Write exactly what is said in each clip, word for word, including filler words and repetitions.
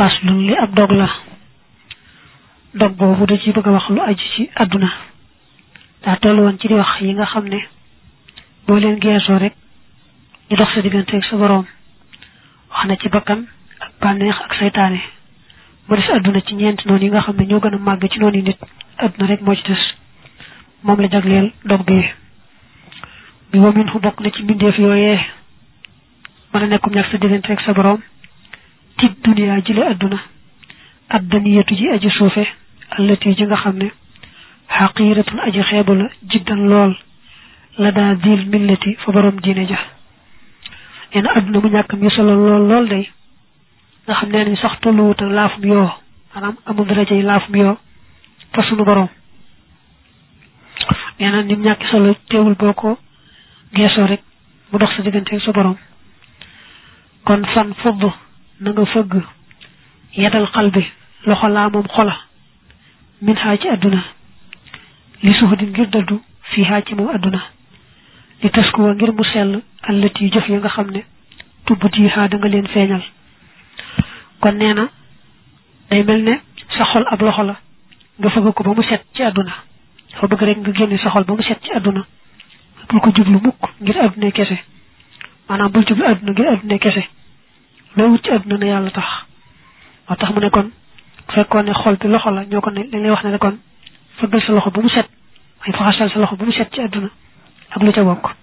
faslun li ab dog la dog boobu da ci bëgg a wax lu aju ci àdduna daa toll woon ci di wax yi nga xam ne boo leen geesoo rek ñu dox sa diggante ak sa boroom wax na ci bakkan ak bànneex ak saytaane mu des àdduna ci ñeenti noonu yi nga xam ne ñoo gën a màgg ci noonu yi nit àdduna rek moo ci des moom la jagleel dog bi bi wamin fu bokk na ci mbindeef yooyee mën a nekkum ñàkk sa diggante ak sa boroom ci duniyaa jile àdduna ad daniyatu ji aji suufe allati ji nga xam ne xaqiiratun aji xeebu la jiddan lool la daa diil millati fa boroom diine ja nee na àdduna mu ñàkk mi solo lool lool day nga xam ne nañ sax tolluwut ak laafum yoo maanaam amul daraja yi laafum yoo fa sunu boroom nee na nim ñàkk solo teewul boo ko geesoo rek mu dox sa diggante sa boroom kon fan fudd na nga fëgg yedal xal bi loxo laa moom xola min xaa ci àdduna li suufadin ngir dëddu fii xaa ci moom àdduna li taskuwa ngir mu sell allati jëf ya nga xam ne tubbut yi xaa da nga leen feeñal kon nee na day mel ne sa xol ab loxo la nga fëgg ko ba mu set ci àdduna dafa bëgg rek nga génne sa xol ba mu set ci àdduna bul ko jublu mukk ngir àdduna kese maanaam bul jublu àdduna ngir àdduna kese loo wut ci àdduna na yàlla tax moo tax mu ne kon fekkoon ne xol bi loxo la ñoo ko ne dañ lay wax ne kon fëggal sa loxo ba mu set ay faxasal sa loxo ba mu set ci àdduna ak lu ca bokk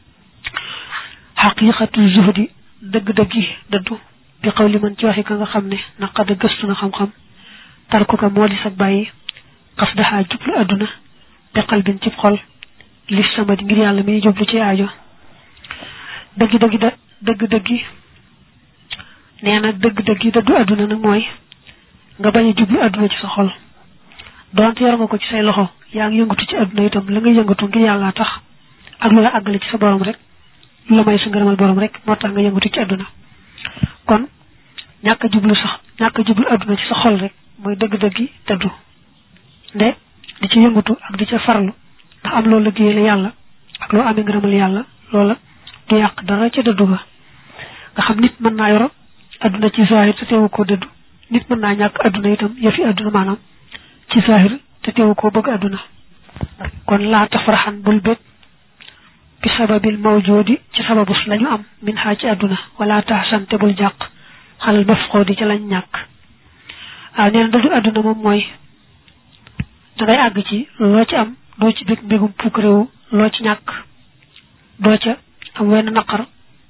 xaqiiqatu zuhdi dëgg-dëggi dëddu bi xaw li man ci waxi ka nga xam ne naqada gëstu na xam-xam tarku ka moo di sag bàyyi xas daxaa jublu àdduna bi qalbin cib xol li sama di ngir yàlla mi jublu ci aajo dëgg-dëggi da dëgg-dëggi nee na dëgg-dëggi dëddu àdduna nag mooy nga bañ a jublu àdduna ci sa xol donte yor nga ko ci say loxo yaa ngi yëngatu ci àdduna itam la nga yëngatu ngir yàlla tax ak lu la àggale ci sa borom rek lu la may sa ngërëmal borom rek moo tax nga yëngatu ci àdduna kon ñàkk a jublu sax ñàkk a jublu àdduna ci sa xol rek mooy dëgg-dëggi dëddu nde di ci yëngatu ak di ca farlu ndax am loolu liggéey la yàlla ak loo amee ngërëmal yàlla loola du yàq dara ca dëddu ga nga xam nit mën naa yoro àdduna ci zahir te teewu koo dëddu nit mën naa ñàkk àdduna itam yëfi àdduna maanaam ci zahir te teewu koo bëgg àdduna kon laa tafraxan bul bég bi sababil mawjoodi ci sababus lañu am min xaa ci àdduna wala taxsan te bul jàq xalal mafqoodi ci lañ ñàkk waaw nee na dëddu àdduna moom mooy dangay àgg ci loo ci am doo ci bég mbégum pukk réew loo ci ñàkk doo ca am wenn naqar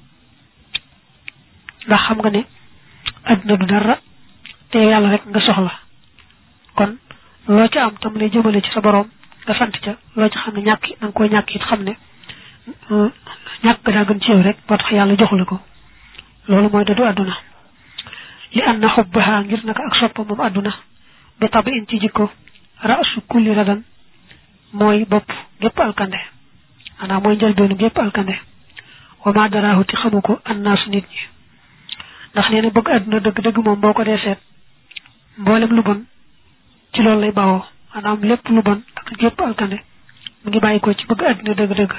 ndax xam nga ne àdduna du dara te yàlla rek nga soxla kon loo ca am tam lay jëmale ci sa boroom nga sant ca loo ca xam ne ñàkk da nga koy ñàkk it xam ne ñàkk daa gën ci yow rek moo tax yàlla joxula ko loolu mooy dëddu àdduna li an na xubbaha ngir naka ak soppa moom àdduna bi tabi in ci jikko raasu kulli radan mooy bopp gépp alkande xanaa mooy njëlbeenu gépp alkande wa ma daraahu ti xamu ko annaasu nit ñi ndax nee na bëgg àdduna dëgg-dëgg moom boo ko dee seet mboolem lu bon ci loolu lay bawoo maanaam lépp lu bon ak gépp alkande mu ngi bàyyi ko ci bëgg àdduna dëgg-dëgg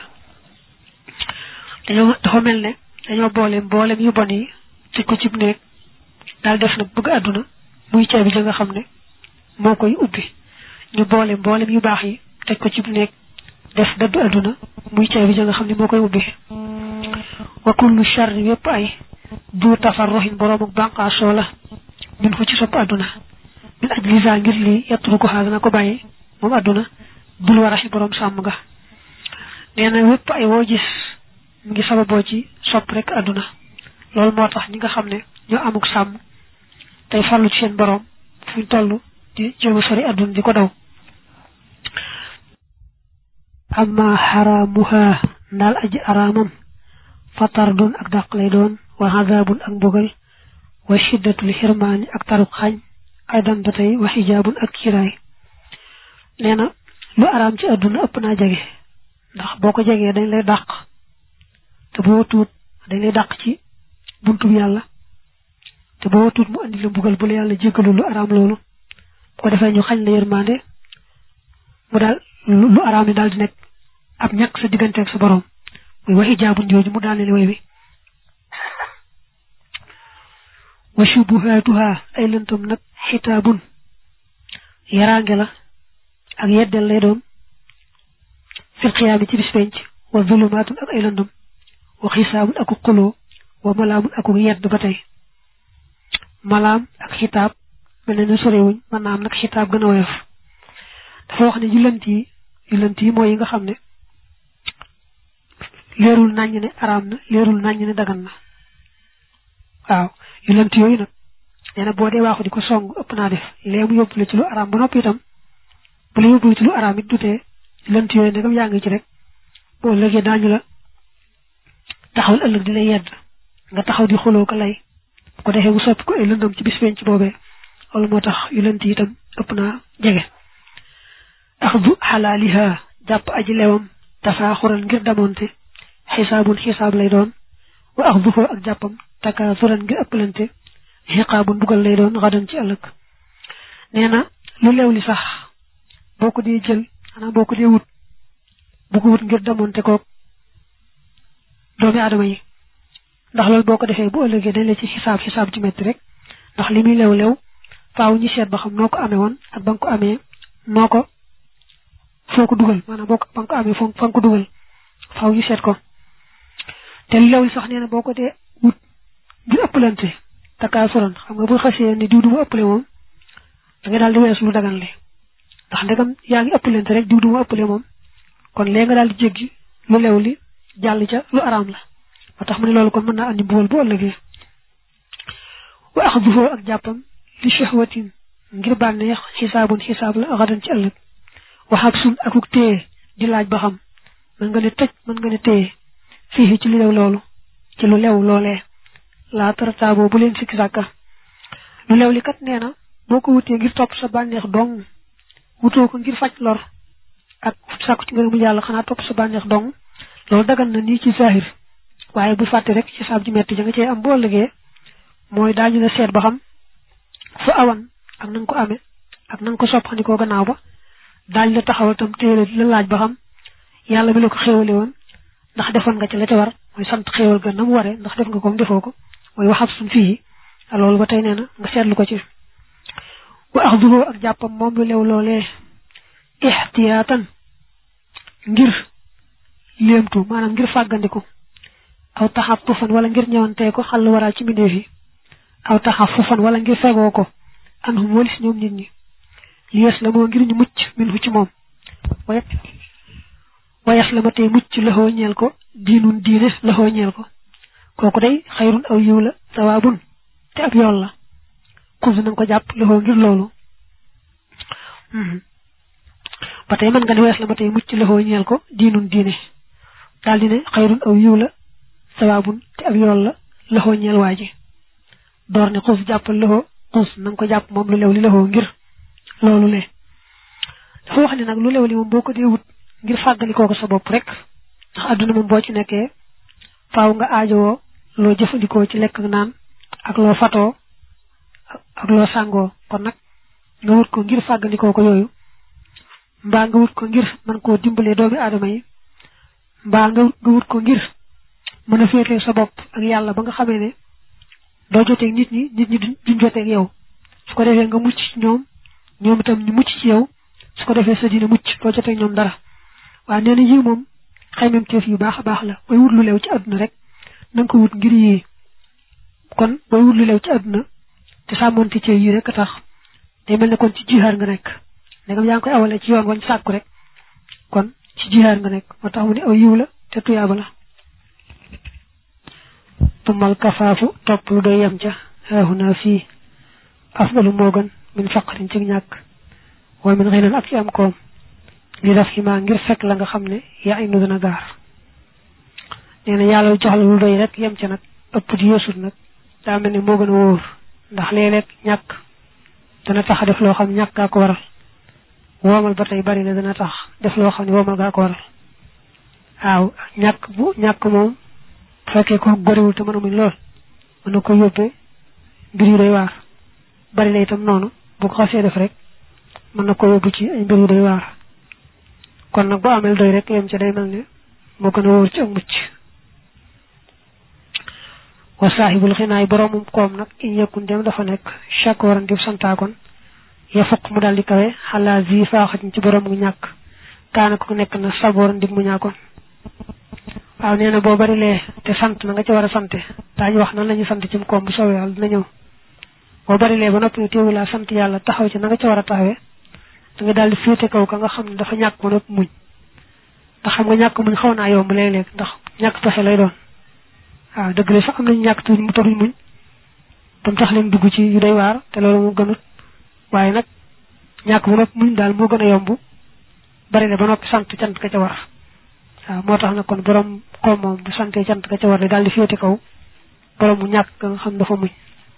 dañoo dafa mel ne dañoo boole mboolem yu bon yi tëj ko ci néeg daal def nag bëgg àdduna muy caabi ja nga xam ne moo koy ubbi ñu boole mboolem yu baax yi tëj ko ci néeg def dëddu àdduna muy caabi ja nga xam ne moo koy ubbi wa kullu sharri yépp ay du tafarruhin boroom ak bànqaasoo la min fu ci sopp àdduna min aj lisa ngir lii yetturu ko xaar dana ko bàyyi moom àdduna dul waraxi boroom sàmm nga nee na wépp ay woo gis mu ngi sababoo ci sopp rek àdduna loolu moo tax ñi nga xam ne ñoo amuk sàmm tey farlu ci seen boroom fuñ toll di jéem a sori àdduna di ko daw amma xaraamuha ndaal aji araamam fatardun ak dàq lay doon wa azabun ak mbugal wa shiddatul xirmaani ak taruk xañ aydan ba tey wa xijaabun ak kiraay nee na lu araam ci àdduna ëpp naa jege ndax boo ko jegee dañ lay dàq te boo tuut dañ lay dàq ci buntu bi yàlla te boo tuut mu andi la mbugal bu la yàlla jéggalu lu araam loolu boo defee ñu xañ la yërmaande mu daal lu araam yi daal di nekk ab ñàkk sa diggante ak sa borom muy wa xijaabun jooju mu daal ne way wi wa shubuhatuha ay lëntam nag xitaabun yaraange la ak yeddel lay doon fil xiyaami ci bis penc wa zulumaatun ak ay lëndam wa xisaabun aku xuloo wa malaamun aku yedd ba tey malaam ak xitaab mel ne ni sorewuñ mën naa am nag xitaab gën a woyof dafa wax ne yu lënt yi yu lënt yi mooy yi nga xam ne leerul naññ ne araam na leerul naññ ne dagan na waaw yu lënt yooyu nag nee na boo dee waaxu di ko song ëpp naa def lee mu yóbbu la ci lu araam ba noppi itam bu la yóbbu ci lu araam it dutee lënt yooyu ndegam yaa ngi ci rek boo léegi daañu la taxawal ëllëg di lay yedd nga taxaw di xuloo ko lay bu ko defee bu soppi ko ay lëndam ci bis penc boobee loolu moo tax yu lënt yi itam ëpp naa jege axdu xalaaliha jàpp aji lewam tafaaxuran ngir damonte xisaabun xisaab lay doon wa axduhu ak jàppam takaasuran ngir ëppalante xiqaabun bugal lay doon xadan ci ëllëg nee na lu leew li sax boo ko dee jël xanaa boo ko dee wut bu ko wut ngir damonte koog doomi aadama yi ndax loolu boo ko defee bu ëllëgee dañ la ci xisaab xisaab ju metti rek ndax li muy lew lew faaw ñu seet ba xam noo ko amee woon ak ba nga ko amee noo ko foo ko dugal maanaam boo ko ba nga ko amee foo fa nga ko dugal faaw ñu seet ko te lu lew li sax nee na boo ko dee wut ngir ëppalante takaasuran xam nga bu xasee ni diw du ma ëppale moom da nga daal di weesu lu dagan le ndax ndegam yaa ngi ëppalante rek diw du ma ëppale moom kon léegi nga daal di jéggi lu lew li jàll ca lu araam la ba tax mu ne loolu kon mën naa andi mbugal bu ëllëgee wa axduhu ak jàppam li shahwatin ngir bànneex xisaabun xisaab la xadan ci ëllëg wa xabsun akuk téye di laaj ba xam mën nga ne tëj mën nga ne téye fii ci lu lew loolu ci lu lew loolee laa tarataaboo bu leen sikki sàkka lu lew li kat nee na boo ko wutee ngir topp sa bànneex dong wutoo ko ngir faj lor ak sàkku ci ngërëmu yàlla xanaa topp sa bànneex dong loolu dagan na nii ci zahir waaye bu fàtte rek ci saab ji metti ja nga cee am boo ëllëgee mooy daañu la seet ba xam fa awan ak na nga ko amee ak na nga ko soppandikoo gannaaw ba daañu la taxawal tam téye la laaj ba xam yàlla mi la ko xéewale woon ndax defoon nga ci la ca war mooy sant xéewal ga na mu waree ndax def nga ko defoo ko mooy waxab suñ fii loolu ba tey nee na nga seetlu ko ci wa axduhu ak jàppam moom lu lew loolee ixtiyaatan ngir léemtu maanaam ngir fàggandiku aw taxaffufan wala ngir ñëwantee ko xal waraa ci mbindeef yi aw taxaffufan wala ngir fegoo ko anhum walis ñoom nit ñi li yes la moo ngir ñu mucc min fu ci moom wayet wayes la ma tey mucc laxoo ñeel ko diinun diine laxoo ñeel ko kooku day xayrun aw yiw la sawaabun te ab yool la xus nañ ko jàpp laxoo ngir loolu ba tey mën nga ne wees la ma tey mucc laxoo ñeel ko diinun diine daal di ne xayrun aw yiw la sawaabun te ab yool la laxoo ñeel waa ji door ne xus jàppal laxoo xus na nga ko jàpp moom lu lew li laxoo ngir loolu le dafa wax ne nag lu lew li moom boo ko dee wut ngir fàggalikoo ko sa bopp rek ndax àdduna moom boo ci nekkee faaw nga aajowoo loo jëfandikoo ci lekk naan ak loo fatoo ak loo sàngoo kon nag nga wut ko ngir fàggalikoo ko yooyu mbaa nga wut ko ngir mën koo dimbalee doomi aadama yi mbaa nga nga wut ko ngir mën a féetee sa bopp ak yàlla ba nga xamee ne doo joteeg nit ñi nit ñi duñ joteeg yow su ko defee nga mucc ci ñoom ñoom itam ñu mucc ci yow su ko defee sa diine mucc doo joteeg ñoom dara waaye nee na yii moom xaymam teef yu baax a baax la booy wut lu leew ci àdduna rek na nga ko wut ngir yii kon booy wut lu leew ci àdduna te sàmmonte ci yii rek a tax day mel ne kon ci jihaar nga nekk ndegam yaa ngi koy awalee ci yoon wañ sàkku rek kon ci jihaar nga nekk moo tax mu ne aw yiw la te tuyaaba la tumal kafaafu topp lu doy yem ca haahuna fii afdalu moo gën min faqrin ci ñàkk wala min xinan ak ci am koom li daf ximaa ngir fekk la nga xam ne yaa inu dana gaar nee na yàlla jox la lu doy rek yem ca nag ëpp di yeesut nag daa mel ne moo gën a wóor ndax léeg-léeg ñàkk dana tax a def loo xam ñàkk gaa ko waral woomal ba tey bari na dana tax def loo xam ne woomal gaa ko waral waaw ñàkk bu ñàkk moom bu fekkee ko goriwul te mën a muñ lool mën na ko yóbbee mbir yu doy waar bari la itam noonu bu ko xasee def rek mën na ko yóbbu ci ay mbir yu doy waar kon nag boo amee doy rek yem ca day mel ne moo gën a wóor ci ak mucc wa saahibul xinaay boromum koom nag in yëkkun dem dafa nekk chaque waran di santaakon ya fukk mu daal di kawe xalaa zi faaxatin ci borom mu ñàkk kaana ko nekk na sabooran di mu ñàkkoon waaw nee na boo bari lee te sant na nga ci war a sante daañu wax nan la ñu sant ci mu koom bu soobee yàlla dina ñëw boo bari lee ba noppi teewu laa sant yàlla taxaw ci na nga ci war a taxawee da nga daal di féete kaw ka nga xam ne dafa ñàkk ba noppi muñ ndax xam nga ñàkk muñ xaw naa yomb léeg-léeg ndax ñàkk pexe lay doon waaw dëgg la sax am nañu ñàkk tuuti mu taxuñ muñ ba mu tax leen dugg ci yu doy waar te loolu moo gënut waaye nag ñàkk ba noppi muñ daal moo gën a yomb bari le ba noppi sant cant ka ca war waaw moo tax nag kon borom koom moom bu santee cant ka ca war daal di féete kaw borom mu ñàkk nga xam dafa muñ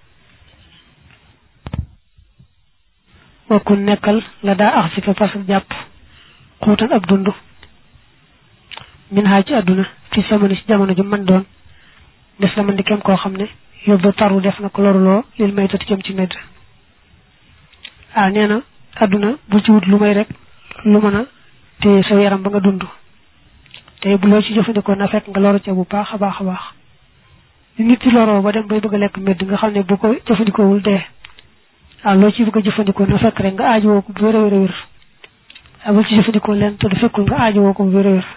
wakku nekkal la daa ax si fa parce que jàpp xuutan ab dund min xaaj ci àdduna fi samani ci jamono ju man doon des la man di kem koo xam ne yóbbu taru def na ko loruloo lil may tati jëm ci medd ah nee na àdduna bu ci wut lu may rek lu mën a te sa yaram ba nga dund te bu loo ci jëfandikoo na fekk nga loru ca bu baax a baax a baax nit ci loroo ba dem bay bëgg a lekk medd nga xam ne bu ko jëfandikoowul dee waaw loo ci bëgg a jëfandikoo na fekk rek nga aajowoo ko bu wér a wér a wér waaw bul ci jëfandikoo leen te du fekkul nga aajowoo ko bu wér a wér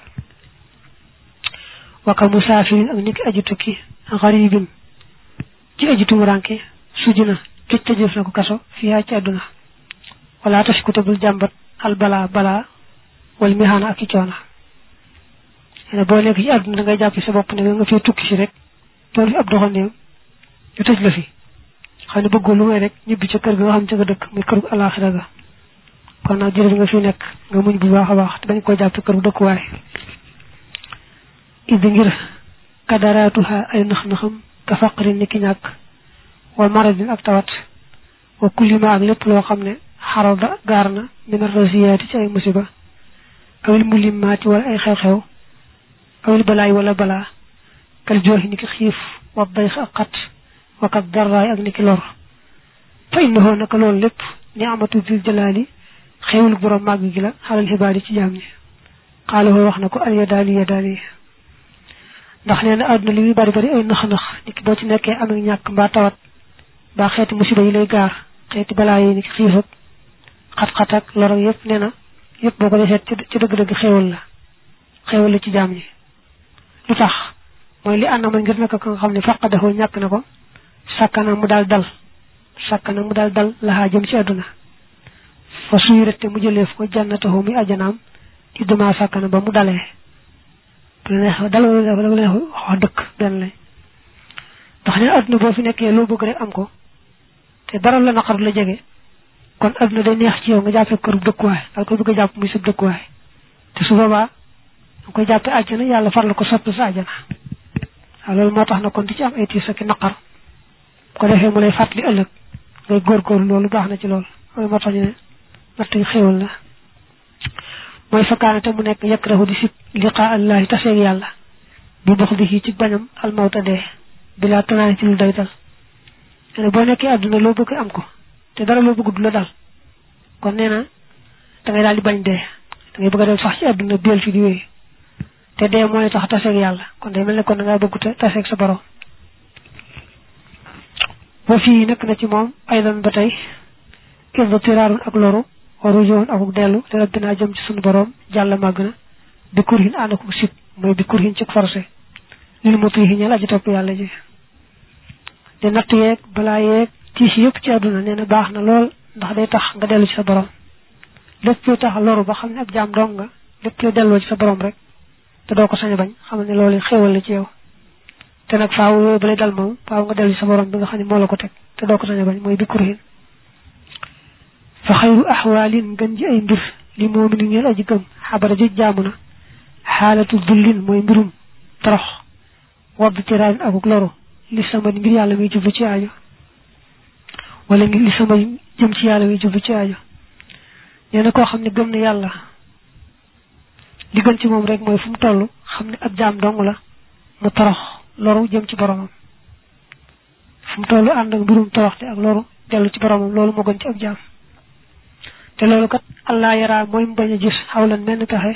waka musaafirin ak niki aji tukki xaribin ci aji tumuranke suji na tëj tëjëf na ko kaso fiyaa ci àdduna wala tashkuta bul jàmbat al bala bala wal mihaana ak i coona ne boo nekk ci àdduna da ngay jàpp sa bopp ne nga fee tukki si rek doon fi ab doxandeem ñu tëj la fi xam ne bëggoo lu may rek ñibbi ca kër ga nga xam ca nga dëkk muy kër gu alaxira ga kon nag jërëjëf nga fi nekk nga muñ bu baax a baax te bañ koo jàpp kër gu dëkkuwaay idi ngir kadaraatuha ay nax-naxam ka faqrin ni ki ñàkk wa maradin ak tawat wa kullima ak lépp loo xam ne xarada gaar na min arrasiyaati ci ay musiba awil mulimmaati wala ay xew-xew awil balaay wala balaa kal jooxi ni ki xiif wa dayx ak xat wa kat darraay ak ni ki lor fa innahu naka loolu lépp ni amatu dil jalaali xewul borom màgg gi la xalal xibaar ci jaam ñi xaaloo wax na ko al yadaali yadaali ndax nee na àdduna li muy bari bari ay nax-nax nit ki boo ci nekkee am ak ñàkk mbaa tawat mbaa xeeti musiba yi lay gaar xeeti balaa yi ni ki xiif ak xat-xat ak lor ak yëpp nee na yëpp boo ko defee ci dëgg-dëgg xéewal la xéewal la ci jaam ñi lu tax mooy li ànd ma ngir naka ko nga xam ne faqadaxoo ñàkk na ko sàkkana mu daal dal sàkkana mu daal dal laxaa jëm ci àdduna fa suy rette mu jëleef ko jànnataxoo muy ajanaam ci duma sàkkana ba mu dalee dal wala neex wax dëkk benn lay ndax ne àdduna boo fi nekkee loo bëgg rek am ko te dara la naqar la jege kon àdduna day neex ci yow nga jàppee kër dëkkuwaay dal ko bëgg a jàpp muy sa dëkkuwaay te su boobaa nga koy jàppee àjjana yàlla far la ko soppi sa àjjana waaw loolu moo tax na kon di ci am ay tiis ak naqar ko defee mu lay fàttali ëllëg ngay góorgóorlu loolu baax na ci loolu loolu moo tax ñu ne natt yi xéewal la mooy fakkaane te mu nekk yakrahu di sib liqaa allahi taseeg yàlla bi dox di ci bañam almawta dee bilaa tanaani ci lu doytal ne boo nekkee àdduna loo bëgg am ko te dara loo bëgg du la dal kon nee na da ngay daal di bañ dee da ngay bëgg a dem sax ci àdduna biel fi di wéy te dee mooy tax taseeg yàlla kon day mel ne kon da ngaa bëgg te taseeg sa borom ba fii nekk na ci moom aydan ba tey irda tiraarun ak loru waru joon akuk dellu te rabbinaa jëm ci sunu borom jàll màgg na bi kurhin ànd akuk sib mooy bi kurhin ci forcé lil mutihi ñeel aji topp yàlla ji de natt yeeg balaa yeeg tiis yëpp ci àdduna nee na baax na lool ndax day tax nga dellu ci sa borom lépp luy tax loru ba xam ne ab jaam dong nga lépp luy delloo ci sa borom rek te doo ko sañ a bañ xam ne loolu xéewal la ci yow te nag faaw yooyu ba lay dal moom faaw nga dellu ci sa borom bi nga xam ne moo la ko teg te doo ko sañ a bañ mooy bi kurhin fa xayru axwaalin gën ji ay mbir li moomini ñeel aji gëm xabara ji jaamu na xaalatu dullin mooy mbirum torox wadd ci raayin akuk loru li sama ngir yàlla muy jublu ci aajo wala ngir li sama jëm ci yàlla muy jublu ci aajo nee na koo xam ne gëm na yàlla li gën ci moom rek mooy fu mu toll xam ne ab jaam dong la mu torox loru jëm ci boromam fu mu toll ànd ak mbirum toroxte ak loru dellu ci boromam loolu moo gën ci ab jaam te loolu kat allah yaraa mooy mu bañ a gis xawlan menn pexe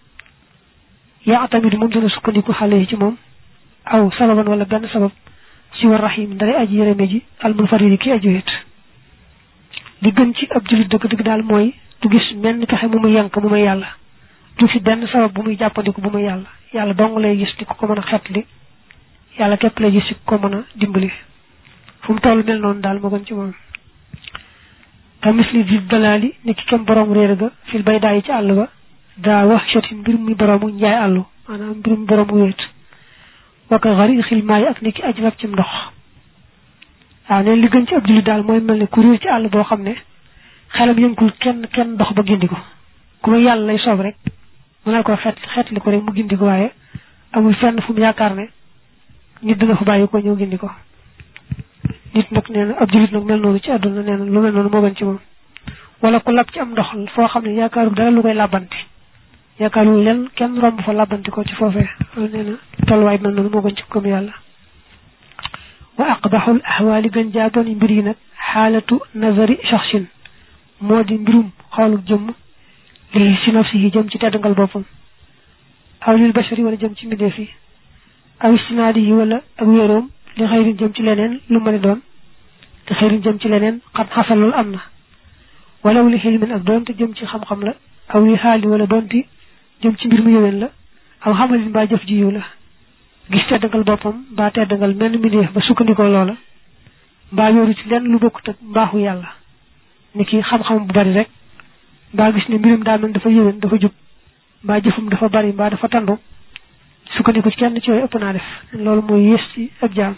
yaa tamit moom dana sukkandiku xale yi ci moom aw sababan wala benn sabab si war rahim ndare aji yërëme ji al munfaridi ki aju wet li gën ci ab julit dëgg dëgg daal mooy du gis menn pexe mu muy yank mu may yàlla du fi benn sabab bu muy jàppandiku bu muy yàlla yàlla dong lay gis di ko ko mën a xetli yàlla képp lay gis di ko mën a dimbali fu mu toll mel noonu daal moo gën ci moom ka misli di dalaali ni ki kem borom réer ga fil bay daay ci àll ba daa wax chati mbir muy boroomu njaay àllu maanaam mbir muy boroomu wéet waka xari xil maay ak ni ki aj rab ci ndox waaw neen li gën ci ab jullit daal mooy mel ne ku réer ci àll boo xam ne xelam yëngul kenn kenn ndox ba gindi ko ku ma yàlla lay soob rek mu naa ko xeet xeet li ko rek mu gindi ko waaye amul fenn fu mu yaakaar ne nit dina fa bàyyi ko ñëw gindi ko nit nag nee na ab jullit nag mel noonu ci àdduna nee na lu mel noonu moo gën ci moom wala ku lab ci am ndox foo xam ne yaakaaru dara lu koy làbbanti yaakaaru leen kenn romb fa làbbanti ko ci foofee loolu nee na tolluwaay mel noonu moo gën ci comme yàlla wa aqbaxul ahwaali gën jaaboon mbir yi nag xaalatu nazari shaxsin moo di mbirum xoolu jëmm lii si nafsi yi jëm ci teddangal boppam aw lil bashari wala jëm ci mbindeef yi aw istinaadi yi wala ak wéeroom li xëyrin jëm ci leneen lu mën a doon te xëyrin jëm ci leneen xam xasal loolu am na wala li xilmin ak doonte jëm ci xam-xam la aw li xaali wala doonte jëm ci mbir mu yëwén la aw xamalin mbaa jëf ji yiw la gis teddangal boppam mbaa teddangal menn mbindeef ba sukkandikoo loola mbaa yóoru ci lenn lu bokkut ak mbaaxu yàlla ni ki xam-xam bu bari rek mbaa gis ne mbirum daa mel dafa yëwén dafa jub mbaa jëfum dafa bari mbaa dafa tandu sukkandiku ci kenn ci yooyu ëpp naa def loolu mooy yées ci ab jaam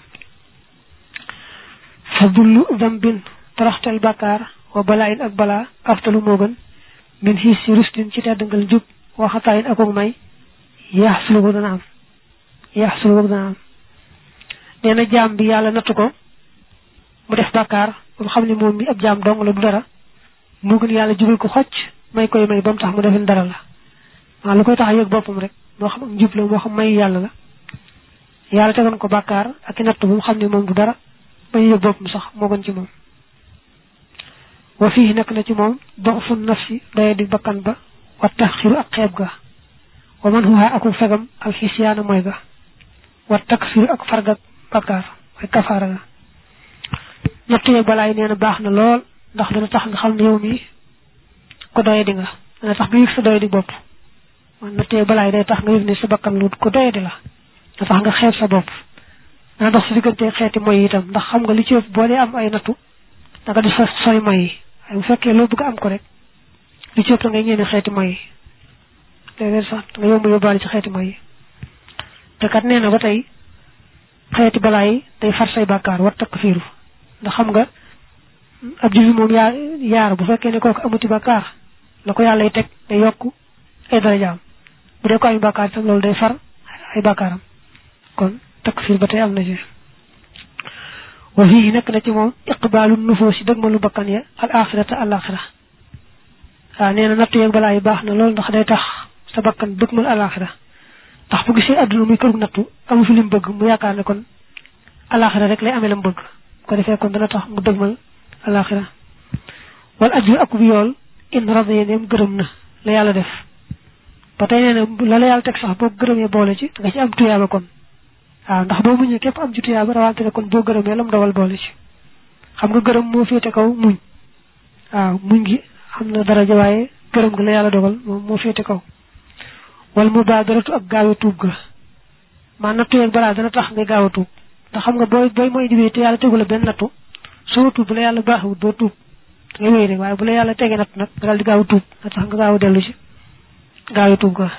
fa dullu dambin toroxtel bàkkaar wa balaa in ak balaa aftalu moo gën min xiis si rustin ci teddangal jub waxataayin akook may yaax sulu ko dana am yaax sulu ko dana am nee na jaam bi yàlla nattu ko mu def bàkkaar ba mu xam ne moom mi ab jaam dong la du dara moo gën yàlla jubal ko xocc may koy may ba mu tax mu defin dara la waaw lu koy tax a yëg boppam rek moo xam njub la moo xam may yàlla la yàlla tegoon ko bàkkaar ak i natt bu mu xam ne moom du dara ba ñu yëg boppam sax moo gën ci moom wa fii nekk na ci moom doxfu nafsi doye di bakkan ba wa taxiru ak xeeb ga wa man huwa aku fegam ak xisyaana mooy ga wa takfiru ak fargak bàkkaar mooy kafaara ga natt yeeg balaay nee na baax na lool ndax dana tax nga xam ne yow mi ko doye di nga dana tax nga yëg sa doye di bopp man natt yeeg balaay day tax nga yëg ne sa bakkan lu ko doye di la da tax nga xeeb sa bopp dana dox sa diggante xeeti moy itam ndax xam nga li ci ëpp boo dee am ay nattu da nga di sa sori moy yi waaye bu fekkee loo bëgg am ko rek li ci ëpp da ngay ñeene xeeti moy yi léeg-léeg sax nga yomb yóbbaale ci xeeti moy yi te kat nee na ba tey xeeti balaa yi day far say bàkkaar war takk fiiru ndax xam nga ab jullit moom yaa yaar bu fekkee ne kooku amuti bàkkaar la ko yàlla teg day yokk ay darajaam bu dee ko ay bàkkaar itam loolu day far ay bàkkaaram kon takfir ba tey am na ci wa fii nekk na ci moom iqbaalu nufoosi dëgmalu bakkan ya al axirata al axira waaw nee na nattu yeeg balaa yi baax na loolu ndax day tax sa bakkan dëgmal al axira ndax bu gisee adduna muy kërug nattu amu fi lim bëgg mu yaakaar ne kon al axira rek lay amee lam bëgg ko defee kon dana tax mu dëgmal al axira wal ajru ak bu yool in radiya neem gërëm na la yàlla def ba tey nee na la la yàlla teg sax boo gërëmee boole ci nga ci am tuyaaba kon waaw ndax boo muñee képp am ci tuyaaba rawante ne kon boo gërëmee lam dawal boole ci xam nga gërëm moo féete kaw muñ waaw muñ gi xam na daraja waaye gërëm gi la yàlla dogal moom moo féete kaw wal mubaadaratu ak gaaw a tuub ga maa nattu yeeg balaa dana tax ngay gaaw a tuub ndax xam nga booy booy mooy diwee te yàlla tegu la benn nattu soo tuub bu la yàlla baaxewut doo tuub ngay wéy rek waaye bu la yàlla tegee natt nag nga daal di gaaw a tuub nga tax nga gaaw a dellu ci gaaw a tuub ga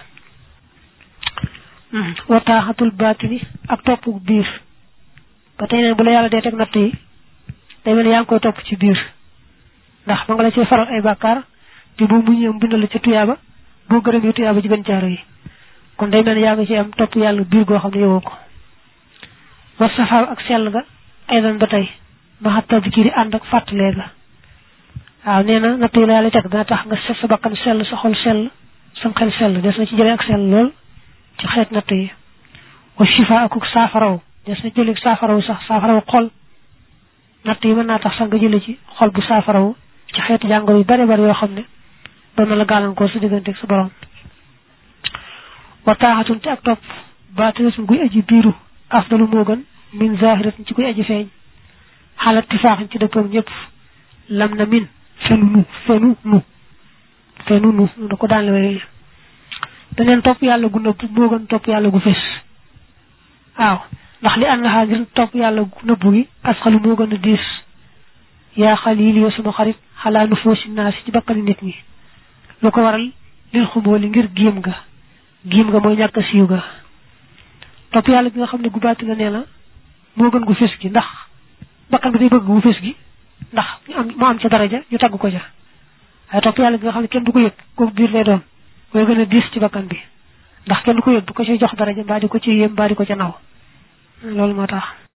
wa taaxatul baatini ak topp biir ba tey neen bu la yàlla dee teg natt yi day mel yaa ngi koy topp ci biir ndax ma nga la cee faral ay bàkkaar te boo muñee mu bindal la ca tuyaaba boo gërëm yi tuyaaba ci gën caaro yi kon day mel yaa ngi ci am topp yàlla biir goo xam ne yowoo ko wa safaaw ak sell ga ay dan ba tey ma xat tadkiri ànd ak fàttalee ga waaw nee na natt yi la yàlla teg dana tax nga sa bakkan sell sa xol sell sam xel sell des na ci jëlee ak sell lool ci xeet natt yi wa shifa akuk saafaraw des na jëlee saafaraw sax saafaraw xol natt yi mën naa tax sax nga jëlee ci xol bu saafaraw ci xeeti jàngoro yu bari bari yoo xam ne doon na la gàllankoor sa digganteeg sa borom wa taaxatun te ak topp baatinatum guy aji biiru afdalu moo gën min zahiratin ci koy aji feeñ xalat tifaaxin ci dëppoog ñëpp lam na min fenu nu fenu nu fenu nu da ko daan la wéy beneen topp yàlla gu nëbb moo gën topp yàlla gu fés waaw ndax li ànd xaa ngir topp yàlla gu nëbb gi asxalu moo gën a diis yaa xalil yow sama xarit xalaa nu foosi naa si ci bakkani nit ñi lu ko waral lil xumbooli ngir giim ga giim ga mooy ñàkk a siiw ga topp yàlla gi nga xam ne gu baati la nee na moo gën gu fés gi ndax bakkan bi day bëgg gu fés gi ndax ñu am mu am ca daraja ñu tagg ko ja waaye topp yàlla gi nga xam ne kenn du ko yëg kooku biir lay doon mooy gën a diis ci bakkan bi ndax kenn du ko yëg du ko ci jox daraja mbaa di ko ci yéem mbaa di ko ca naw loolu moo tax